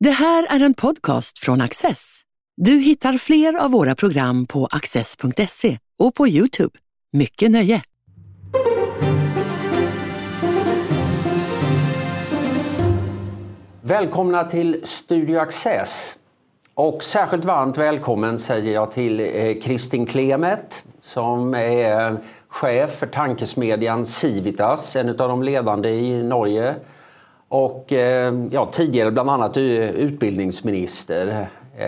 Det här är en podcast från Access. Du hittar fler av våra program på access.se och på YouTube. Mycket nöje! Välkomna till Studio Access. Och särskilt varmt välkommen säger jag till Kristin Klemet som är chef för tankesmedjan Civitas, en av de ledande i Norge. Och tidigare bland annat utbildningsminister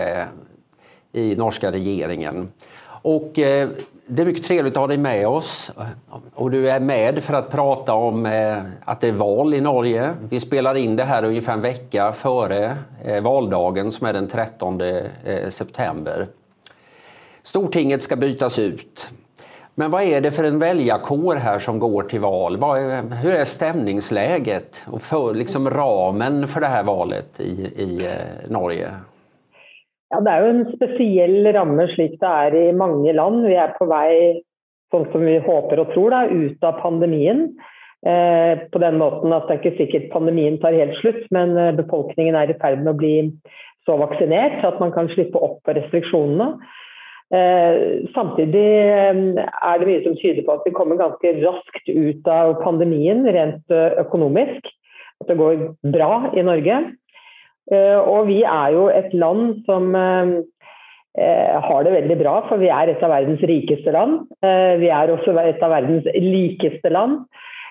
i norska regeringen. Och det är mycket trevligt att ha dig med oss. Och du är med för att prata om att det är val i Norge. Vi spelar in det här ungefär en vecka före valdagen som är den 13 september. Stortinget ska bytas ut. Men vad är det för en väljarkår här som går till val? Hur är stämningsläget och ramen för det här valet i Norge? Ja, det är ju en speciell ramme slik det är i många land. Vi är på väg, sånt som vi hoppas och tror, ut av pandemin. På den måten att det inte säkert pandemin tar helt slut, men befolkningen är i färd med att bli så vaccinerad så att man kan slippa upp restriktionerna. Samtidigt är det mycket som tyder på att vi kommer ganska raskt ut av pandemin rent ekonomiskt. Att det går bra i Norge. Och vi är ju ett land som har det väldigt bra, för vi är ett av världens rikaste land. Vi är också ett av världens likaste land.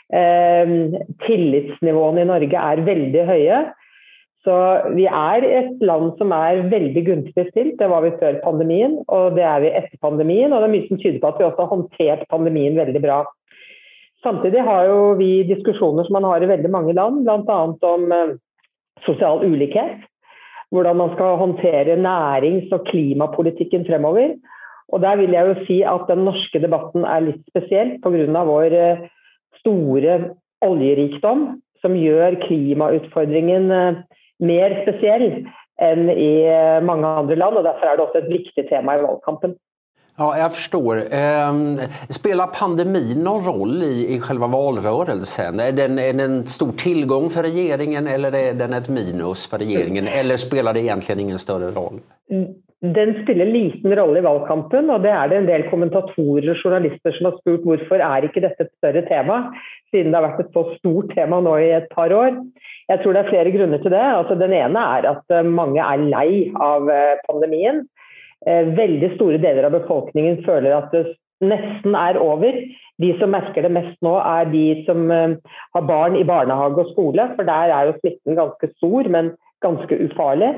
Tillitsnivån i Norge är väldigt höga. Så vi är ett land som är väldigt gunstigt stilt. Det var vi før pandemien, och det är vi efter pandemin. Och det är mycket som tyder på att vi också har håndtert pandemien väldigt bra. Samtidigt har ju vi diskussioner som man har i väldigt många land, bland annat om social ulikhet, hvordan man skal håndtere nærings- og klimapolitikken fremover. Og der vil jeg jo si at den norske debatten er litt spesiell på grunn av vår store oljerikdom, som gjør klimautfordringen mer spesiell enn i mange andre land, og derfor er det også et viktig tema i valgkampen. Ja, jag förstår. Spelar pandemin någon roll i själva valrörelsen? Är den en stor tillgång för regeringen eller är den ett minus för regeringen? Eller spelar det egentligen ingen större roll? Den spelar liten roll i valkampen, och det är det en del kommentatorer och journalister som har spurt varför är inte detta ett större tema, siden det har varit ett så stort tema nu i ett par år. Jag tror det är flera grunder till det. Alltså, den ena är att många är lei av pandemien. Väldigt stora delar av befolkningen føler att det nästan är över. De som märker det mest nu är de som har barn i barnehage och skola, för där är ju smitten ganska stor, men ganska ufarlig.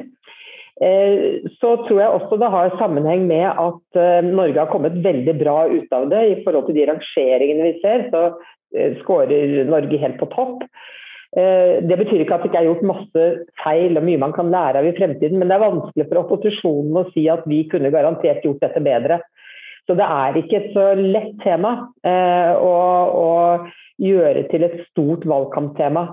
Så tror jag också det har sammanhang med att Norge har kommit väldigt bra ut av det i forhold till de rangeringarna vi ser, så skårer Norge helt på topp. Det betyder ikke at det ikke er gjort masse feil og mye man kan lære av i fremtiden, men det er vanskelig for opposisjonen å si at vi kunne garantert gjort dette bedre. Så det er ikke et så lett tema å gjøre til et stort valgkamptema.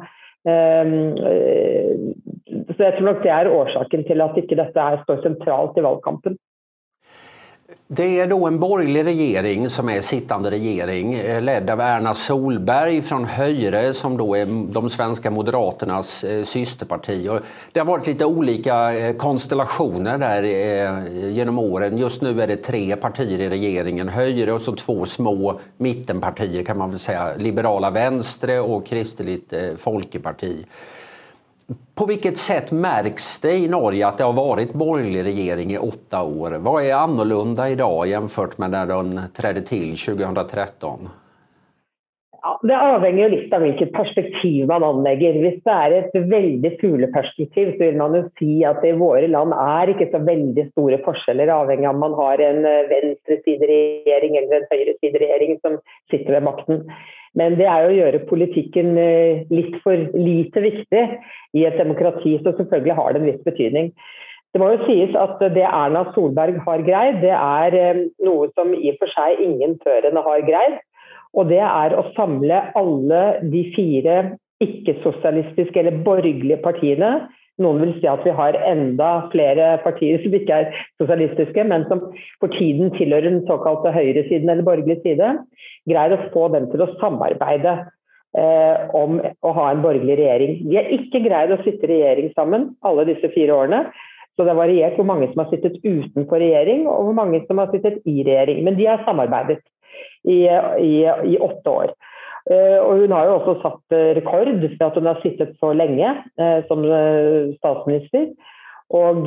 Så jeg tror nok det er årsaken til at ikke dette står sentralt i valgkampen. Det är då en borgerlig regering som är sittande regering ledd av Erna Solberg från Høyre som då är de svenska moderaternas systerparti. Och det har varit lite olika konstellationer där genom åren. Just nu är det 3 partier i regeringen, Høyre och så 2 små mittenpartier kan man väl säga, Liberala Venstre och Kristeligt Folkeparti. På vilket sätt märks det i Norge att det har varit borgerlig regering i 8 år? Vad är annorlunda idag jämfört med när den trädde till 2013? Ja, det avhänger ju lite av vilket perspektiv man anlägger. Hvis det är ett väldigt fugleperspektiv så vill man ju si att det i våra land är inte så väldigt stora skillnader avhängig av om man har en venstresideregering eller en høyresideregering som sitter ved makten. Men det är ju att göra politiken lite för lite viktig i ett demokrati, så selvfølgelig har det en viss betydning. Det må jo sies at det Erna Solberg har greid, det er noe som i og for seg ingen før henne har greid, og det er å samle alle de 4 ikke-sosialistiske eller borgerlige partiene. Noen vil si at vi har enda flere partier som ikke er sosialistiske, men som for tiden tilhører den såkalte høyresiden eller borgerlige side, greier å få dem til å samarbeide. om å ha en borgerlig regjering. De har ikke greid å sitte i regjering sammen alle disse 4 årene, så det har variert hvor mange som har sittet utenfor regjering og hvor mange som har sittet i regjering. Men de har samarbeidet i 8 år. Og hun har jo også satt rekord for at hun har sittet så lenge som statsminister, og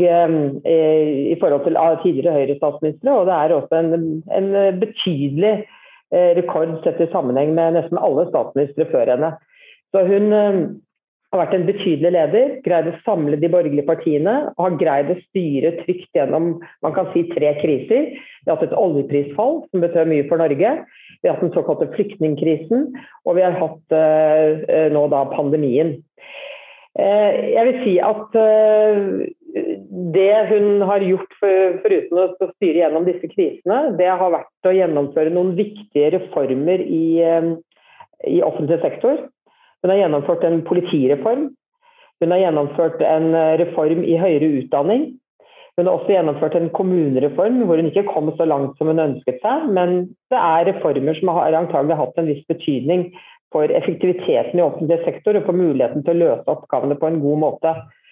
i forhold til tidligere Høyre-statsministre, og det er også en betydelig rekord sett i sammenheng med nesten alle statsministre før henne. Så hun har vært en betydelig leder, greid å samle de borgerlige partiene, og har greid å styre trygt gjennom, man kan si, 3 kriser. Vi har hatt et oljeprisfall som betød mye for Norge, vi har hatt den såkalte flyktningkrisen, og vi har hatt nå da pandemien. Jeg vil si at det hun har gjort foruten å styre gjennom disse krisene, det har vært å gjennomføre noen viktige reformer i offentlig sektor. Hun har gjennomført en politireform, hun har gjennomført en reform i høyere utdanning, hun har også gjennomført en kommunereform hvor hun ikke kom så langt som hun ønsket seg, men det er reformer som har antagelig hatt en viss betydning for effektiviteten i offentlig sektor og for muligheten til å løse oppgavene på en god måte.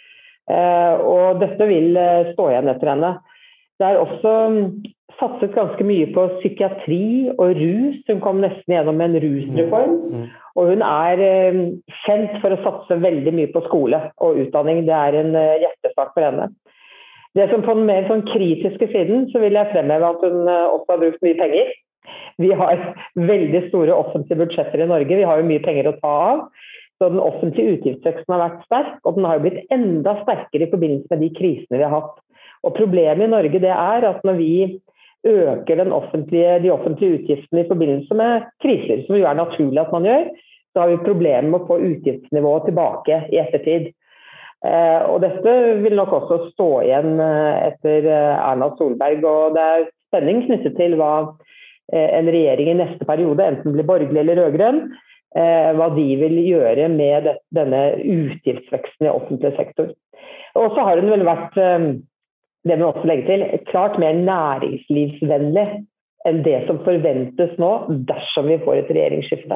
Og dette vil stå igjen etter henne. Det er også satset ganske mye på psykiatri og rus. Hun kom nesten gjennom en rusreform, og hun er kjent for å satse veldig mye på skole og utdanning. Det er en hjertesak for henne. Det som på den mer sånn kritiske siden, så vil jeg fremheve at hun også har brukt mye penger. Vi har veldig store offentlige budsjetter i Norge, vi har jo mye penger å ta av. Så den offentlige utgiftsveksten har vært sterk, og den har jo blitt enda sterkere i forbindelse med de krisene vi har hatt. Og problemet i Norge det er at når vi øker de offentlige utgiftene i forbindelse med kriser, som jo er naturlig at man gjør, så har vi problemer med å få utgiftsnivået tilbake i ettertid. Og dette vil nok også stå igjen etter Erna Solberg, og det er spenning knyttet til hva en regjering i neste periode, enten blir borgerlig eller rødgrønn, hva de vil gjøre med denne utgiftsveksten i offentlig sektor. Og så har hun vel vært, det må også legge til, klart mer næringslivsvennlig enn det som forventes nå, dersom vi får et regjeringsskifte.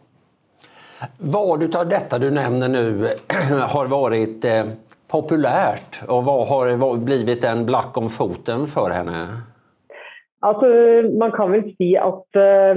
Vad utav detta du nämner nu har varit populärt och vad har blivit en black om foten för henne? Alltså, man kan väl si att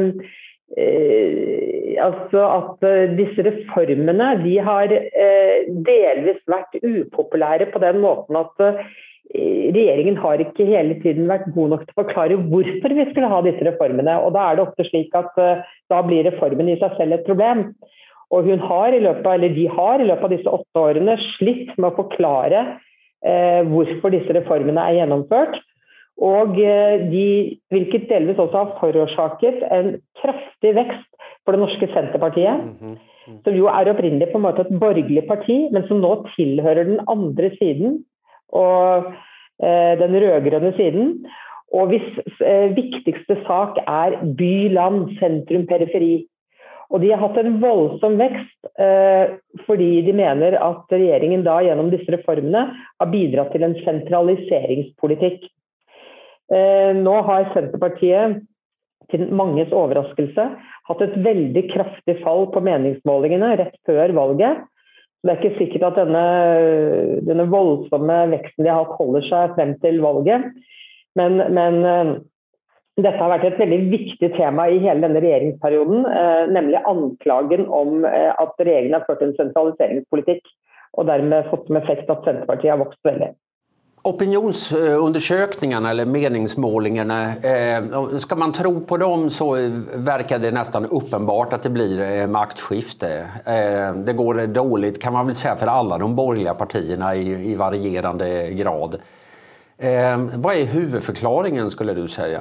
disse reformene de har delvis vært upopulære på den måten at regjeringen har ikke hele tiden vært god nok til å forklare hvorfor vi skulle ha disse reformene, og da er det ofte slik at da blir reformen i seg selv et problem. Og de har i løpet av disse 8 årene slitt med å forklare hvorfor disse reformene er gjennomført, og hvilket delvis også har forårsaket en kraftig vekst for det norske Senterpartiet, som jo er opprinnelig på en måte et borgerlig parti, men som nå tilhører den andre siden, og den rødgrønne siden, og hvis viktigste sak er by, land, sentrum, periferi. Og de har hatt en voldsom vekst fordi de mener at regjeringen da gjennom disse reformene har bidratt til en sentraliseringspolitikk. Nå har Senterpartiet til manges overraskelse hatt et veldig kraftig fall på meningsmålingene rett før valget. Det er ikke sikkert at denne voldsomme veksten de har hatt holder seg frem til valget, men dette har vært et veldig viktig tema i hele denne regjeringsperioden, nemlig anklagen om at regjeringen har ført en sentraliseringspolitikk, og dermed fått som effekt at Senterpartiet har vokst veldig. Opinionsundersökningarna eller meningsmålingarna, ska man tro på dem så verkar det nästan uppenbart att det blir maktskifte. Det går dåligt kan man väl säga för alla de borgerliga partierna i varierande grad. Vad är huvudförklaringen skulle du säga?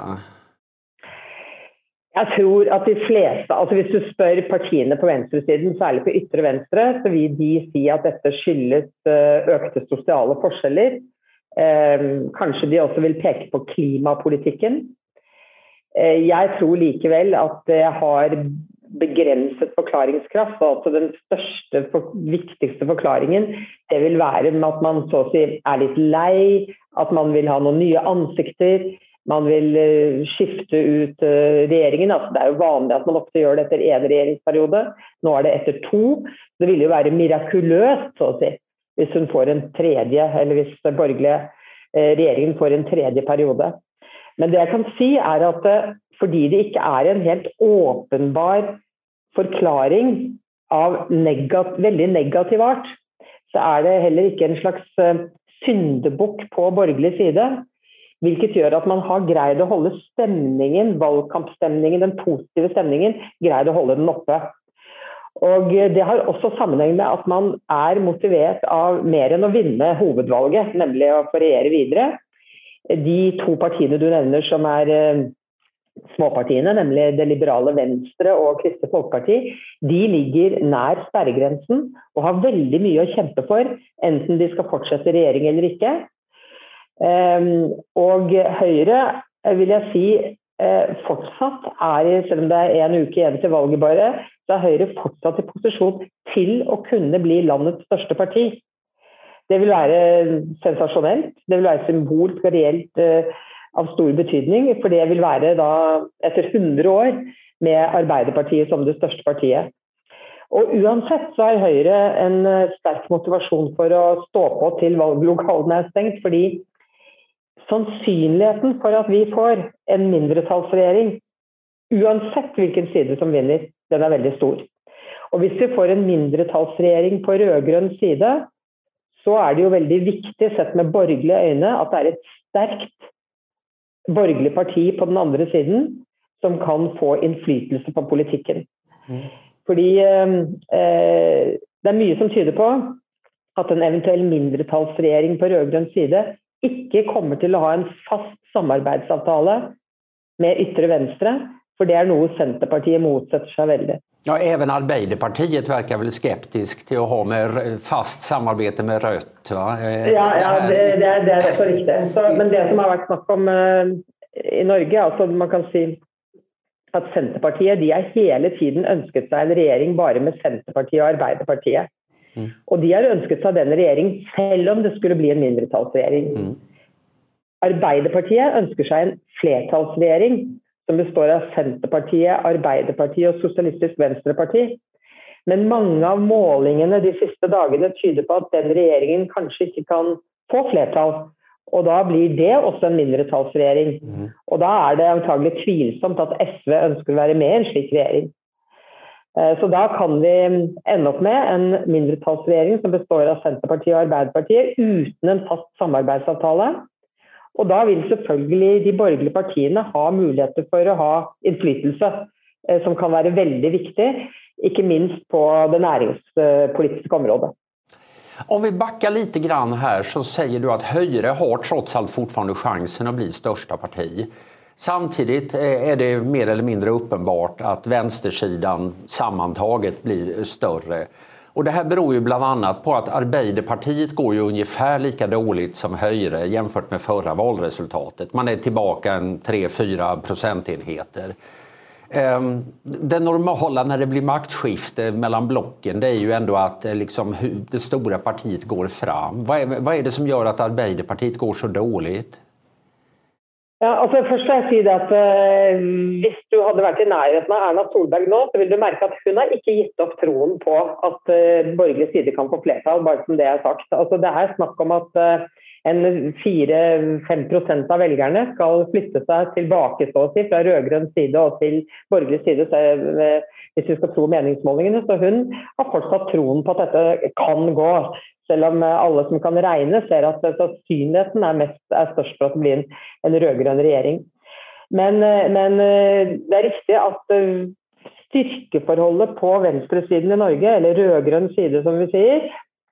Jeg tror at de fleste, altså hvis du spør partiene på venstresiden, særlig på ytre venstre, så vil de si at dette skyldes økte sosiale forskjeller. Kanskje de også vil peke på klimapolitikken. Jeg tror likevel at det har begrenset forklaringskraft, og altså den største, viktigste forklaringen, det vil være med at man så å si er litt lei, at man vil ha noen nye ansikter, man vill skifte ut regeringen. Altså, det jo vanlig at man ofte gjør det etter en regjeringsperiode. Nå det etter 2. Det vil jo være mirakuløst, så å si, hvis hun får en tredje, eller hvis den borgerlige regjeringen får en tredje periode. Men det jeg kan si at fordi det ikke en helt åpenbar forklaring av veldig negativ art, så det heller ikke en slags syndebukk på borgerlig side, hvilket gjør at man har greid å holde stemningen, valgkampstemningen, den positive stemningen, greid å holde den oppe. Og det har også sammenheng med at man motivert av mer enn å vinne hovedvalget, nemlig å få regjere videre. De 2 partiene du nevner som småpartiene, nemlig det liberale Venstre og Kristelig Folkeparti, de ligger nær sperregrensen og har veldig mye å kjempe for, enten de skal fortsette regjering eller ikke. Og Høyre, vil jeg si, fortsatt selv om det en uke igjen til valget bare, så Høyre fortsatt i posisjon til å kunne bli landets største parti. Det vil være sensasjonelt, det vil være symbolsk og reelt av stor betydning, for det vil være da etter 100 år med Arbeiderpartiet som det største partiet. Og uansett så Høyre en sterk motivasjon for å stå på til valglokalene stengt, fordi sannsynligheten for at vi får en mindretallsregjering, uansett hvilken side som vinner, den veldig stor. Og hvis vi får en mindretallsregjering på rødgrønn side, så det jo veldig viktig sett med borgerlige øyne at det et sterkt borgerlig parti på den andre siden som kan få innflytelse på politikken. Fordi det mye som tyder på at en eventuell mindretallsregjering på rødgrønn side ikke kommer til å ha en fast samarbeidsavtale med ytre venstre, for det noe Senterpartiet motsetter seg veldig. Ja, även Arbeiderpartiet verkar väl skeptisk till att ha med fast samarbete med Rødt, va? Ja, det også riktig. Men det som har vært snakk om i Norge, altså man kan si at Senterpartiet, de hele tiden ønsket seg en regjering bare med Senterpartiet og Arbeiderpartiet. Og de har ønsket seg denne regjering selv om det skulle bli en mindretallsregjering. Arbeiderpartiet ønsker seg en flertallsregjering som består av Senterpartiet, Arbeiderpartiet og Sosialistisk Venstreparti. Men mange av målingene de siste dagene tyder på at den regjeringen kanskje ikke kan få flertall. Og da blir det også en mindretallsregjering. Og da det antagelig tvilsomt at SV ønsker å være med i en slik regjering. Så da kan vi ende opp med en mindretallsregjering som består av Senterpartiet og Arbeiderpartiet uten en fast samarbeidsavtale. Og da vil selvfølgelig de borgerlige partiene ha muligheter for å ha innflytelse, som kan være veldig viktig, ikke minst på det næringspolitiske området. Om vi backar lite grann här så säger du att Høyre har trots allt fortfarande chansen att bli största parti. Samtidigt det mer eller mindre uppenbart att vänstersidan sammantaget blir större. Och det här beror ju bland annat på att Arbeiderpartiet går ju ungefär lika dåligt som Høyre jämfört med förra valresultatet. Man tillbaka en 3-4 procentenheter. Det normala när det blir maktskifte mellan blocken, det ju ändå att liksom, det stora partiet går fram. Vad det som gör att Arbeiderpartiet går så dåligt? Ja, altså først vil jeg si det at hvis du hadde vært i nærheten av Erna Solberg nå, så vil du merke at hun har ikke gitt opp troen på at borgerlig side kan få flertall, bare som det sagt. Altså det snakk om at en 4-5% av velgerne skal flytte seg tilbake så å si, fra rødgrønn side og til borgerlig side, hvis vi skal tro meningsmålingene. Så hun har fortsatt troen på at dette kan gå. Selv om alle som kan regne ser at sannsynligheten størst for at det blir en rødgrønn regjering. Men det riktig at styrkeforholdet på venstresiden i Norge, eller rødgrønn side som vi sier,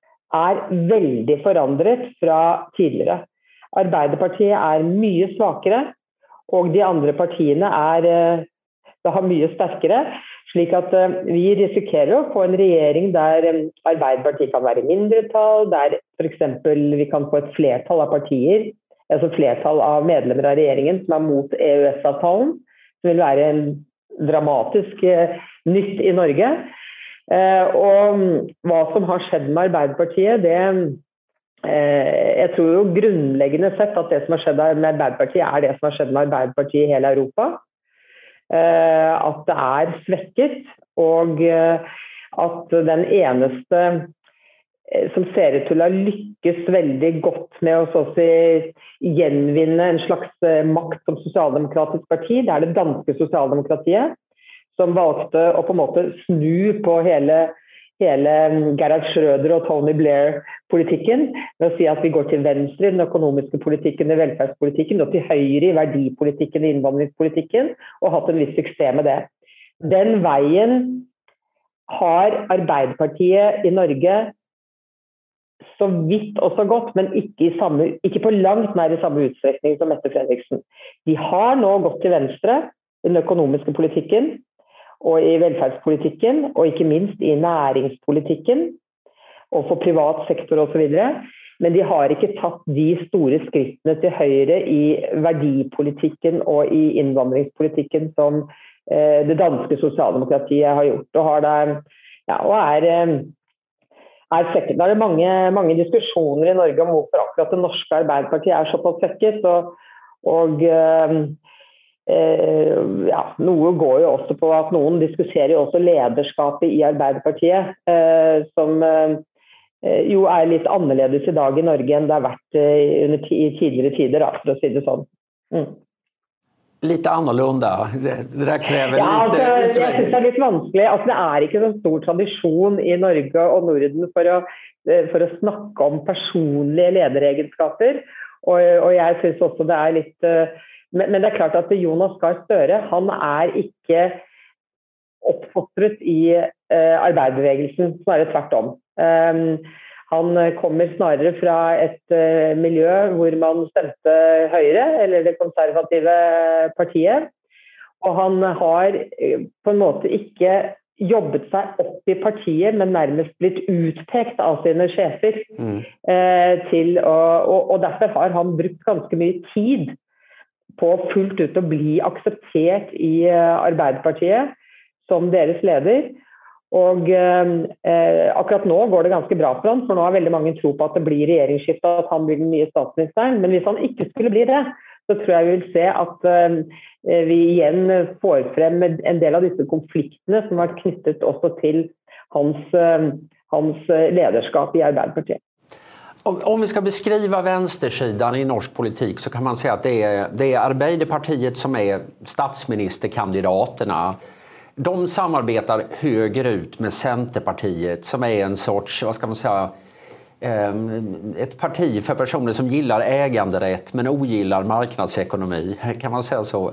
veldig forandret fra tidligere. Arbeiderpartiet mye svakere, og de andre partiene har mye sterkere, slik at vi risikerer å få en regjering der Arbeiderpartiet kan være mindretall, der for eksempel vi kan få et flertall av partier, altså flertall av medlemmer av regjeringen som mot EØS-avtalen, som vil være en dramatisk nytt i Norge. Og hva som har skjedd med Arbeiderpartiet, det jeg tror jo grunnleggende sett at det som har skjedd med Arbeiderpartiet det som har skjedd med Arbeiderpartiet i hele Europa. At det svekket, og at den eneste som ser ut til å lykkes veldig godt med å så å si gjenvinne en slags makt som sosialdemokratisk parti, det det danske sosialdemokratiet, som valgte å på en måte snu på hele Gerhard Schröder og Tony Blair-politikken, med å si at vi går til venstre i den økonomiske politikken, i velferdspolitikken, og til høyre i verdipolitikken, i innvandringspolitikken, og hatt en viss suksess med det. Den veien har Arbeiderpartiet i Norge så vidt og så godt, men ikke på langt nær i samme utstrekning som Mette Frederiksen. De har nå gått til venstre i den økonomiske politikken, og i velferdspolitikken, og ikke minst i næringspolitikken, og for privat sektor og så videre. Men de har ikke tatt de store skrittene til høyre i verdipolitikken og i innvandringspolitikken som det danske sosialdemokratiet har gjort. Og svekket. Da det mange diskusjoner i Norge om hvorfor akkurat det norske Arbeiderpartiet såpass svekket, og noe går jo også på at noen diskuterer jo også lederskapet i Arbeiderpartiet, som jo litt annerledes i dag i Norge enn det har vært i tidligere tider, da, for å si det sånn. Lite annorlunda. Det där kräver lite... Jeg synes det litt vanskelig. Altså, det ikke så stor tradisjon i Norge og Norden for å snakke om personlige lederegenskaper, og jeg synes også det litt... Men det klart at Jonas Gahr Støre, han ikke oppfostret i arbeiderbevegelsen, snarere tvert om. Han kommer snarere fra et miljø hvor man stemte Høyre, eller det konservative partiet, og han har på en måte ikke jobbet seg opp i partiet, men nærmest blitt utpekt av sine sjefer, og derfor har han brukt ganske mye tid på fullt ut å bli akseptert i Arbeiderpartiet som deres leder. Og akkurat nå går det ganske bra for han, for nå har veldig mange tro på at det blir regjeringsskifte, at han blir den nye statsministeren. Men hvis han ikke skulle bli det, så tror jeg vi vil se at vi igjen får frem en del av disse konfliktene som har vært knyttet også til hans lederskap i Arbeiderpartiet. Om vi ska beskriva vänstersidan i norsk politik så kan man säga att det är Arbeiderpartiet som är statsministerkandidaterna. De samarbetar högerut med Centerpartiet som är en sorts, vad ska man säga, ett parti för personer som gillar äganderätt men ogillar marknadsekonomi, kan man säga så.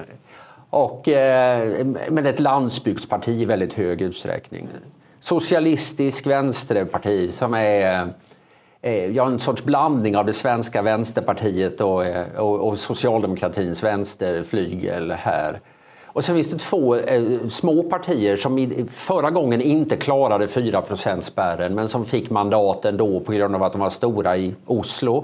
Men ett landsbygdsparti i väldigt hög utsträckning. Socialistisk vänsterparti som är en sorts blandning av det svenska vänsterpartiet och socialdemokratins vänsterflygel här. Och sen finns det två små partier som förra gången inte klarade 4%-spärren men som fick mandaten då på grund av att de var stora i Oslo.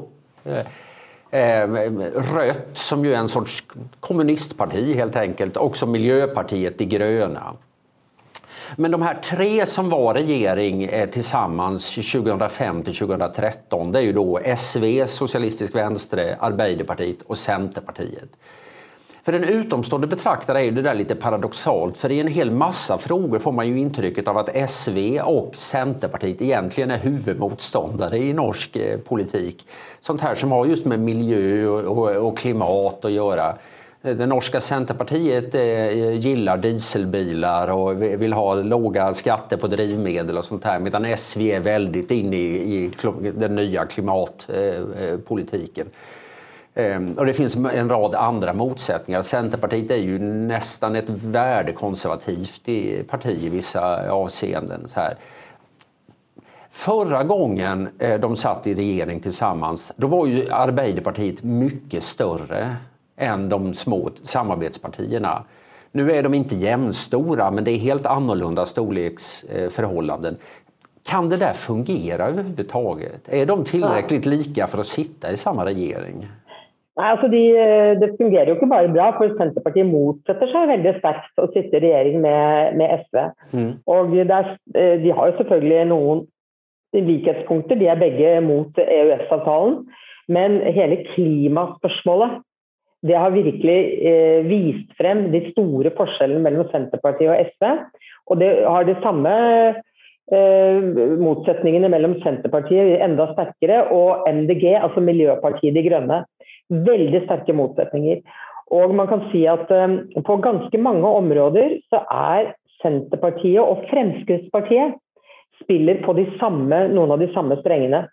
Rött som ju är en sorts kommunistparti helt enkelt, också Miljöpartiet de gröna. Men de här tre som var regering tillsammans 2005 till 2013, det är ju då SV, Socialistisk Venstre, Arbeiderpartiet och Centerpartiet. För en utomstående betraktare är ju det där lite paradoxalt, för i en hel massa frågor får man ju intrycket av att SV och Centerpartiet egentligen är huvudmotståndare i norsk politik. Sånt här som har just med miljö och klimat att göra. Det norska Centerpartiet gillar dieselbilar och vill ha låga skatter på drivmedel och sånt här, medan SV är väldigt inne i den nya klimatpolitiken. Och det finns en rad andra motsättningar. Centerpartiet är ju nästan ett värdekonservativt parti i vissa avseenden. Så här. Förra gången de satt i regering tillsammans, då var ju Arbeiderpartiet mycket större än de små samarbetspartierna. Nu är de inte jämnstora, men det är helt annorlunda storleksförhållanden. Kan det där fungera överhuvudtaget? Är de tillräckligt lika för att sitta i samma regering? Nei, altså det fungerer jo ikke bare bra, for Senterpartiet motsetter seg veldig sterkt å sitte i regjering med SV. Og de har jo selvfølgelig noen likhetspunkter, de begge mot EØS-avtalen, men hele klimaspørsmålet, det har virkelig vist frem de store forskjellene mellom Senterpartiet og SV, og det har de samme motsetningene mellom Senterpartiet enda sterkere og MDG, altså Miljøpartiet De Grønne. Veldig sterke motsetninger. Og man kan si at på ganske mange områder så Senterpartiet og Fremskrittspartiet spiller på noen av de samme strengene.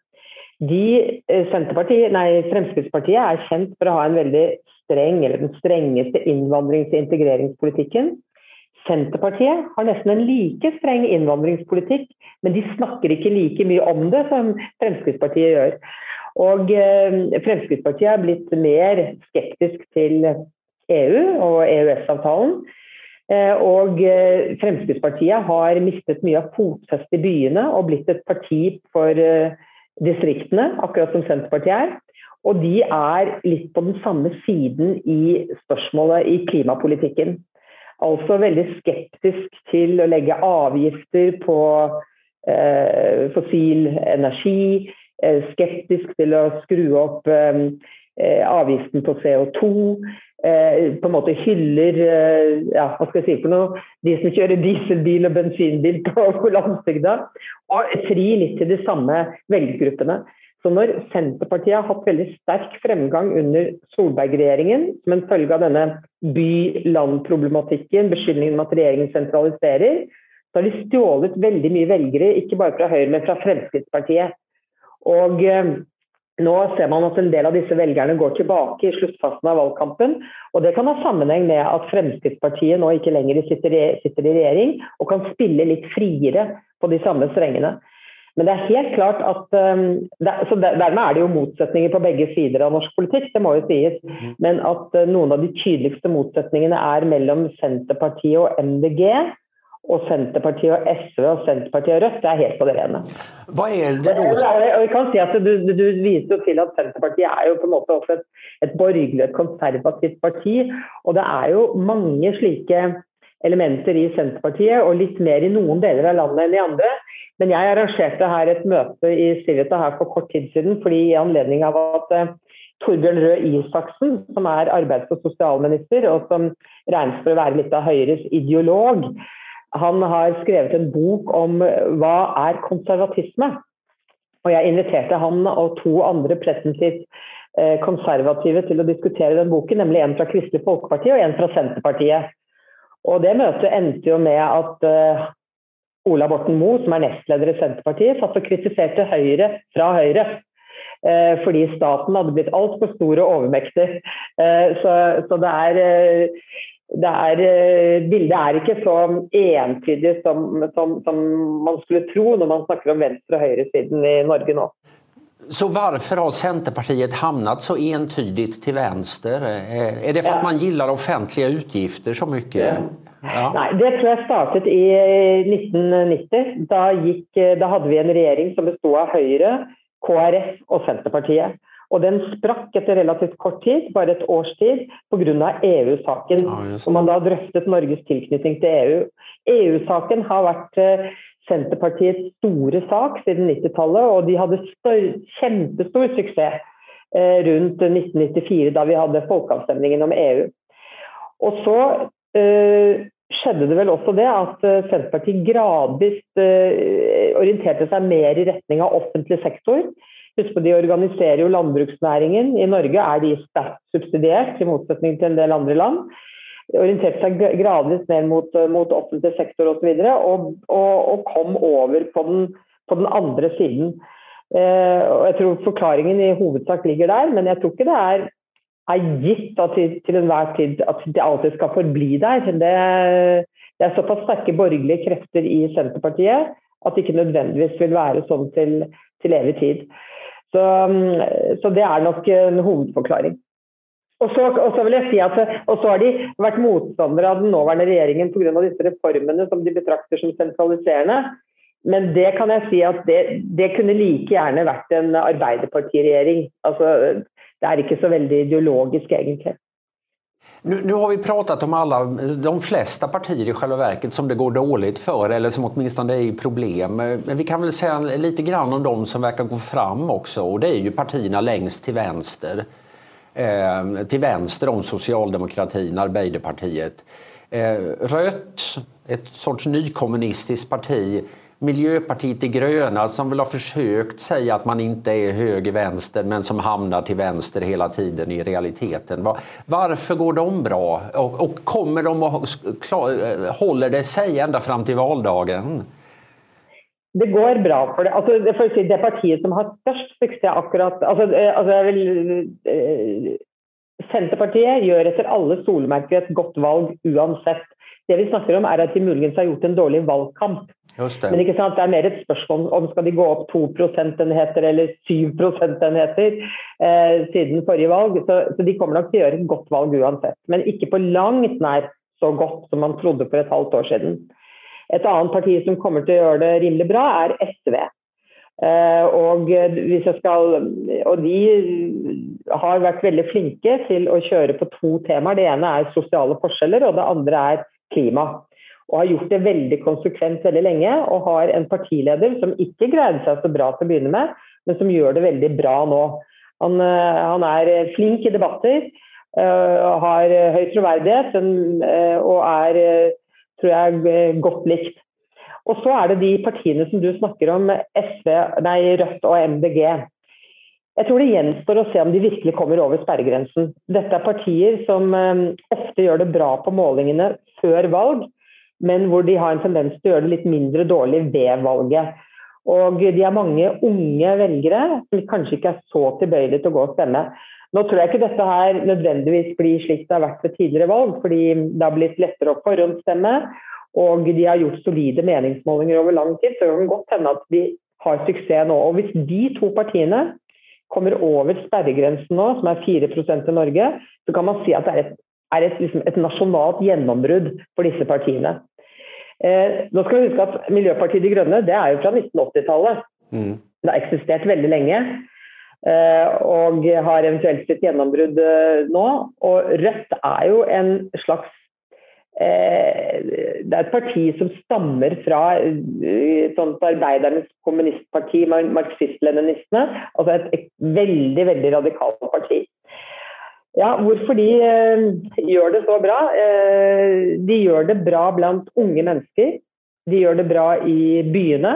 Fremskrittspartiet kjent for å ha en veldig streng, eller den strengeste innvandrings- og integreringspolitikken. Senterpartiet har nesten en like streng innvandringspolitikk, men de snakker ikke like mye om det som Fremskrittspartiet gjør. Og Fremskrittspartiet blitt mer skeptisk til EU og EØS-avtalen, og Fremskrittspartiet har mistet mye av fotfest i byene og blitt et parti for distriktene, akkurat som Senterpartiet og de litt på den samme siden i spørsmålet i klimapolitikken. Altså veldig skeptisk til å legge avgifter på fossil energi, skeptisk til å skru opp avgiften på CO2, på en måte hyller, hva skal jeg si for noe, de som kjører dieselbil og bensinbil på landsbygda, og fri litt til de samme velgergruppene. Så når Senterpartiet har hatt veldig sterk fremgang under Solberg-regjeringen, som en følge av denne by-land-problematikken, beskyldningen om at regjeringen sentraliserer, så har de stjålet veldig mye velgere, ikke bare fra Høyre, men fra Fremskrittspartiet. Og nå ser man at en del av disse velgerne går tilbake i sluttfasen av valgkampen, og det kan ha sammenheng med at Fremskrittspartiet nå ikke lenger sitter i regjering, og kan spille litt friere på de samme strengene. Men det helt klart at, så dermed det jo motsetninger på begge sider av norsk politikk, det må jo sies, men at noen av de tydeligste motsetningene mellom Senterpartiet og MDG, og Senterpartiet og SV og Senterpartiet og Rødt, det helt på det rene. Hva det da? Og jeg kan si at du viser jo til at Senterpartiet jo på en måte også et borgerlig, et konservativt parti, og det jo mange slike elementer i Senterpartiet, og litt mer i noen deler av landet enn i andre. Men jeg arrangerte her et møte i Civita her for kort tid siden, fordi i anledning av at Torbjørn Røe Isaksen, som arbeids- og sosialminister, og som regnes for å være litt av Høyres ideolog, han har skrevet en bok om hva konservatisme. Og jeg inviterte han og 2 andre presentivt konservative til å diskutere den boken, nemlig en fra Kristelig Folkeparti og en fra Senterpartiet. Og det møtet endte jo med at Ola Borten Moe, som nestleder i Senterpartiet, satt og kritiserte Høyre fra Høyre, fordi staten hadde blitt alt for stor og overmektig. Så bildet ikke så entydig som man skulle tro når man snakker om venstre- og høyresiden i Norge nå. Så varför har Centerpartiet hamnat så entydigt till vänster? Det för att man gillar offentliga utgifter så mycket? Ja. Nej, det tror jag startet i 1990. Da hade vi en regering som bestod av Høyre, KrF og Senterpartiet. Og den sprakk etter relativt kort tid, bare et års tid, på grunn av EU-saken. Og man da drøftet Norges tilknytning til EU. EU-saken har vært Senterpartiets store sak siden 90-tallet, og de hadde kjempestor suksess rundt 1994, da vi hadde folkeavstemningen om EU. Og så skjedde det vel også det at Senterpartiet gradvis orienterte seg mer i retning av offentlig sektor. Husk på, de organiserer jo landbruksnæringen. I Norge de sterkt subsidiert, i motsetning til en del andre land. Orienterte seg gradvis mer mot offentlig sektor og så videre, og kom over på den andre siden. Og jeg tror forklaringen i hovedsak ligger der, men jeg tror ikke det gitt at til enhver tid at det alltid skal forbli der. Det såpass sterke borgerlige krefter i Senterpartiet at det ikke nødvendigvis vil være sånn til evig tid. Så det nok en hovedforklaring. Og så vil jeg si at så har de vært motstandere av den nåværende regjeringen på grunn av disse reformene som de betrakter som sentraliserende. Men det kan jeg si at det kunne like gjerne vært en Arbeiderpartiregjering. Altså, det ikke så veldig ideologisk egentlig. Nu har vi pratat om de flesta partier i själva verket som det går dåligt för eller som åtminstone är i problem. Men vi kan väl säga lite grann om de som verkar gå fram också, och det är ju partierna längst till vänster. Till vänster om socialdemokratin, Arbeiderpartiet. Rött, ett sorts nykommunistiskt parti. Miljöpartiet de gröna som väl har försökt säga att man inte är höger-vänster men som hamnar till vänster hela tiden i realiteten. Varför går de bra? Och kommer de håller det sig ända fram till valdagen? Det går bra för det. Alltså, det partiet som har störst success akkurat, Senterpartiet gör efter alla solmärker ett gott valg uansett. Det vi snakker om att de muligens har gjort en dårlig valgkamp. Men ikke sant, det mer ett spørsmål om skal de gå upp 2 procentenheter eller 7 procentenheter siden forrige valg. Så de kommer nok til å gjøre et godt valg uansett. Men ikke på langt nær så godt som man trodde for et halvt år siden. Et annet parti som kommer til å gjøre det rimelig bra er SV. Og de har vært veldig flinke til å kjøre på 2 temaer. Det ene er sosiale forskjeller, og det andre er klima. Og har gjort det veldig konsekvent veldig lenge, og har en partileder som ikke greide seg så bra til å begynne med, men som gjør det veldig bra nå. Han er flink i debatter, har høy troverdighet, og er, tror jeg, godt likt. Og så er det de partiene som du snakker om, Rødt og MDG. Jeg tror det gjenstår å se om de virkelig kommer over sperregrensen. Dette er partier som ofte gjør det bra på målingene før valg, men hvor de har en tendens til å gjøre det litt mindre dårlig ved valget. Og de har mange unge velgere som kanskje ikke er så tilbøyelige til å gå og stemme. Nå tror jeg ikke dette her nødvendigvis blir slik det har vært ved tidligere valg, fordi det har blitt lettere å forhåndsstemme, og de har gjort solide meningsmålinger over lang tid, så det kan godt hende at de har suksess nå. Og hvis de 2 partiene kommer over sperregrensen nå, som er 4% i Norge, så kan man si at det er et nasjonalt gjennombrudd for disse partiene. Nå skal vi huske at Miljøpartiet de Grønne, det er jo fra 1980-tallet. Det har eksistert veldig lenge, og har eventuelt sitt gjennombrudd nå. Og Rødt er jo en slags, det er et parti som stammer fra sånt arbeidernes kommunistparti, marxist-leninistene, altså et veldig, veldig radikalt parti. Ja, hvorfor de gjør det så bra? De gjør det bra blant unge mennesker. De gjør det bra i byene.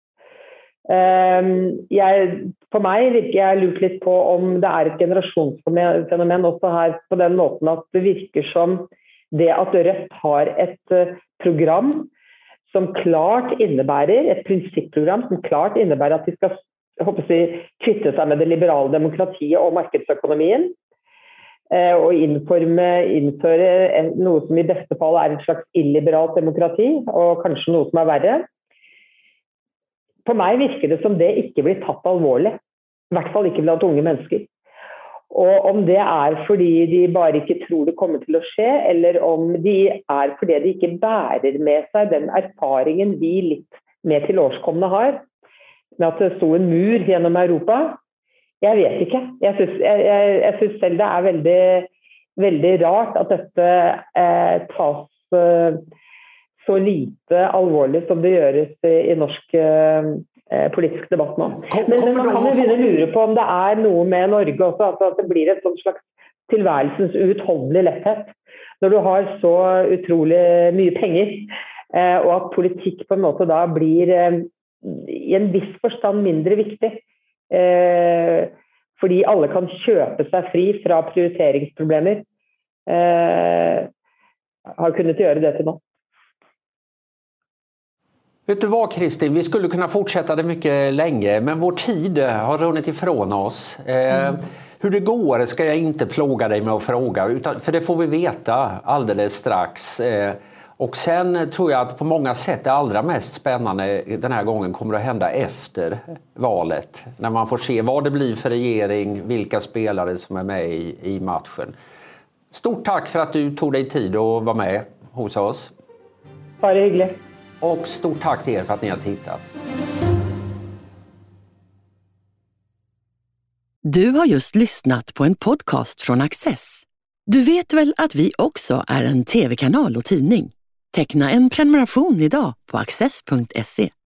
For meg virker jeg lurt litt på om det er et generasjonsfenomen også her på den måten at det virker som det at Rødt har et program som klart innebærer, et prinsippprogram som klart innebærer at de skal kvitte seg med det liberale demokratiet og markedsøkonomien, og innføre noe som i beste fall er et slags illiberalt demokrati, og kanskje noe som er verre. For meg virker det som det ikke blir tatt alvorlig, i hvert fall ikke blant unge mennesker. Og om det er fordi de bare ikke tror det kommer til å skje, eller om de er fordi de ikke bærer med seg den erfaringen vi litt mer til årskomne har, med at det sto en mur gjennom Europa. Jeg vet ikke. Jeg synes selv det er veldig, veldig rart at dette tas så lite alvorlig som det gjøres i norsk politisk debatt nå. Men man kan jo begynne å lure på om det er noe med Norge også, at det blir et sånt slags tilværelsens uutholdelig letthet. Når du har så utrolig mye penger, og at politikk på en måte da blir i en viss forstand mindre viktig, fordi alle kan kjøpe seg fri fra prioriteringsproblemer, har kunnet gjøre det til nå. Vet du vad, Kristin, vi skulle kunna fortsätta det mycket länge, men vår tid har runnit ifrån oss. Hur det går ska jag inte plåga dig med att fråga, för det får vi veta alldeles strax. Och sen tror jag att på många sätt det allra mest spännande den här gången kommer att hända efter valet. När man får se vad det blir för regering, vilka spelare som är med i matchen. Stort tack för att du tog dig tid att vara med hos oss. Bara hyggligt. Och stort tack till er för att ni har tittat. Du har just lyssnat på en podcast från Access. Du vet väl att vi också är en tv-kanal och tidning? Teckna en prenumeration idag på access.se.